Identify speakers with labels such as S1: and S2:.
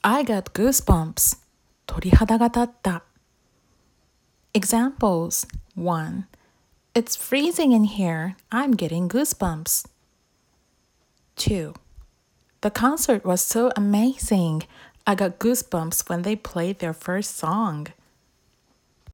S1: I got goosebumps. 鳥肌が立った。Examples 1. It's freezing in here. I'm getting goosebumps. 2. The concert was so amazing. I got goosebumps when they played their first song.